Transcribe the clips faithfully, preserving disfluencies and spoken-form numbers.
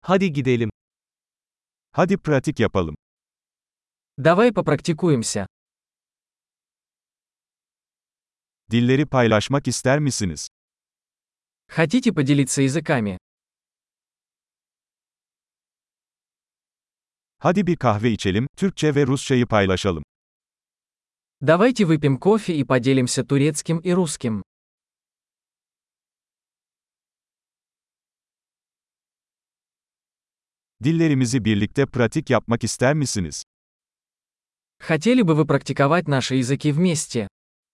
Hadi gidelim. Hadi pratik yapalım. Давай попрактикуемся. Dilleri paylaşmak ister misiniz? Хотите поделиться языками? Hadi bir kahve içelim, Türkçe ve Rusçayı paylaşalım. Давайте выпьем кофе и поделимся турецким и русским. Dillerimizi birlikte pratik yapmak ister misiniz? Хотели бы вы практиковать наши языки вместе?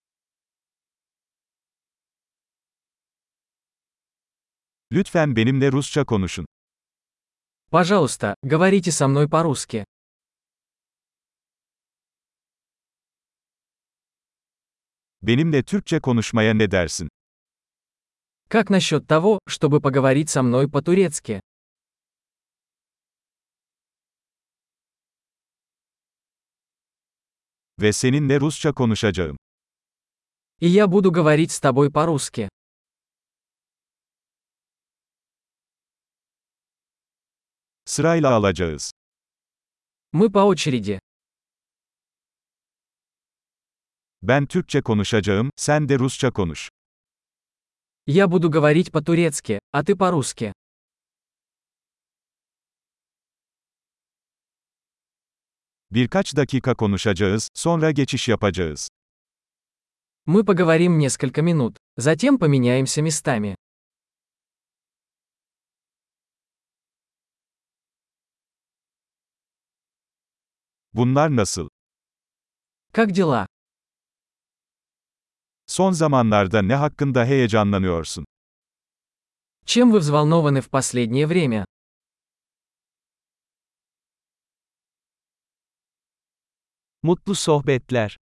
Lütfen benimle Rusça konuşun. Пожалуйста, говорите со мной по-русски. Benimle Türkçe konuşmaya ne dersin? Как насчет того, чтобы поговорить со мной по-турецки? Ve seninle Rusça konuşacağım. И я буду говорить с тобой по-русски. Sırayla alacağız. Мы по очереди. Ben Türkçe konuşacağım, sen de Rusça konuş. Я буду говорить по-турецки, а ты по-русски. Birkaç dakika konuşacağız, sonra geçiş yapacağız. Мы поговорим несколько минут, затем поменяемся местами. Bunlar nasıl? Как дела? Son zamanlarda ne hakkında heyecanlanıyorsun? Чем вы взволнованы в последнее время? Mutlu sohbetler.